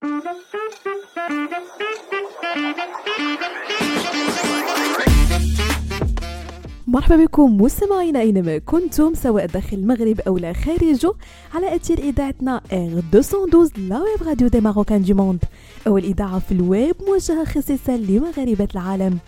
مرحبا بكم مستمعينا أينما كنتم سواء داخل المغرب أو لا خارجه على أثير إذاعتنا R212 لا ويب راديو دي ماروكان دي موند، أول إذاعة في الويب موجهة خصيصا لمغاربة العالم.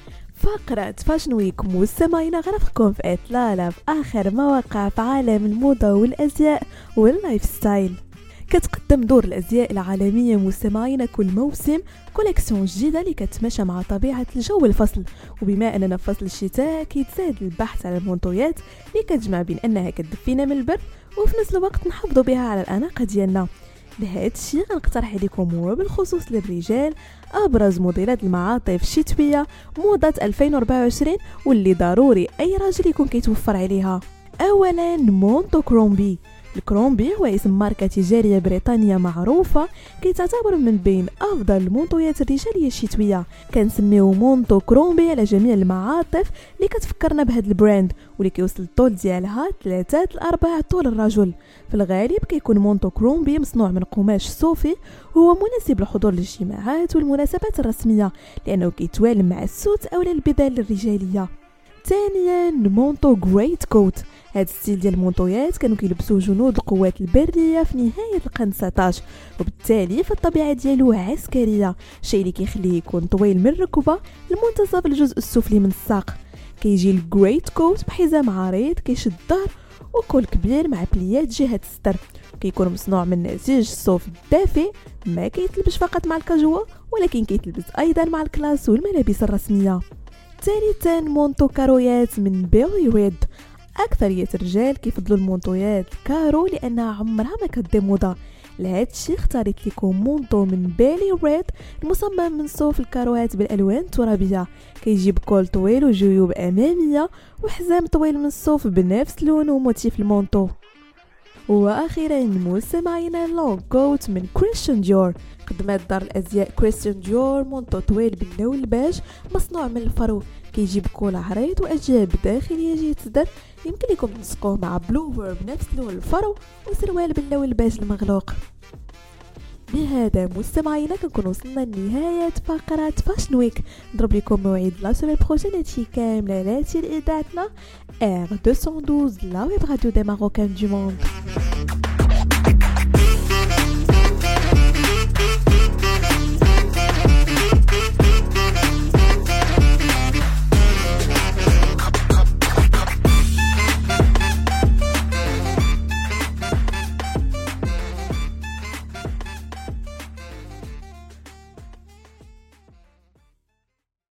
فقرة فاشن ويك مستمعينا غنفكم في إطلالة في آخر مواقع في عالم الموضة والأزياء واللايف ستايل. كتقدم دور الأزياء العالمية مستمعينا كل موسم كوليكسيون جديدة اللي كتماشى مع طبيعة الجو الفصل، وبما أننا في فصل الشتاء كيتزاد البحث على المنتويات اللي كتجمع بين أنها كتدفينا من البرد وفي نفس الوقت نحافظوا بها على الأناقة ديالنا. لهذا الشيء غنقترح عليكم وبالخصوص للرجال أبرز موديلات المعاطف الشتوية موضة 2024 واللي ضروري أي راجل يكون كيتوفر عليها. أولا مونتو كرومبي. الكرومبي هو اسم ماركة تجارية بريطانية معروفة كيتعتبر من بين أفضل المونطويات الرجالية الشتوية. كنسميو مونتو كرومبي على جميع المعاطف اللي كتفكرنا بهذا البراند، واللي كيوصل الطول ديالها 3 ل 4 طول الرجل. في الغالب كيكون مونتو كرومبي مصنوع من قماش صوفي، وهو مناسب للحضور للجماعات والمناسبات الرسمية لأنه كيتوالم مع السوت أو البدل الرجالية. ثانيا مونتو جريت كوت. هذا الستيل ديال المونطويات كانوا كيلبسوه جنود القوات البريه في نهايه القرن 19، وبالتالي فالطبيعه ديالو عسكريه، الشيء اللي كيخليه يكون طويل من الركبه لمنتصف الجزء السفلي من الساق. كيجي الجريت كوت بحزام عريض كيشد الظهر وكول كبير مع بليات جهه الستر، كيكون مصنوع من نسيج الصوف الدافئ، ما كيتلبس فقط مع الكاجوال ولكن كيتلبس ايضا مع الكلاس والملابس الرسميه. ثالثا مونتو كارويات من بيلي ريد. أكثرية الرجال كيفضلوا المونطويات كارو لأنها عمرها ما كتدي موضة. لهذا الشيء اختاريت لكم مونطو من بيلي ريد المصمم من صوف الكاروات بالألوان الترابية، كيجيب كول طويل وجيوب أمامية وحزام طويل من الصوف بنفس لون وموتيف المونطو. واخيرا مستمعينا لونغ كوت من كريستيان ديور. قدمت دار الازياء كريستيان ديور مونطو طويل باللون الباج مصنوع من الفرو، كيجيب كول عريض واجياب داخليه جهه الصدر، يمكن لكم تنسقوه مع بلوفر بنفس لون الفرو وسروال باللون الباج المغلوق. بهذا مستمعينا كنكون وصلنا لنهاية فقرة فاشن ويك. نضرب لكم موعد لا سومين بروجين هادشي كامل على اذاعتنا R212 لا ويب راديو دي ماروكان دي موند.